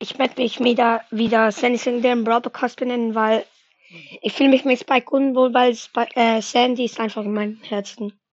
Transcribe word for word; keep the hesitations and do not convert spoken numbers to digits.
Ich möchte mich wieder, wieder Sandy Singleton Brawl Podcast benennen, weil ich fühle mich mit Spike unwohl, weil Spike, äh, Sandy ist einfach in meinem Herzen.